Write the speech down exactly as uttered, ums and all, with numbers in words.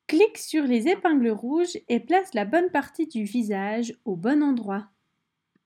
Clique sur les épingles rouges et place la bonne partie du visage au bon endroit.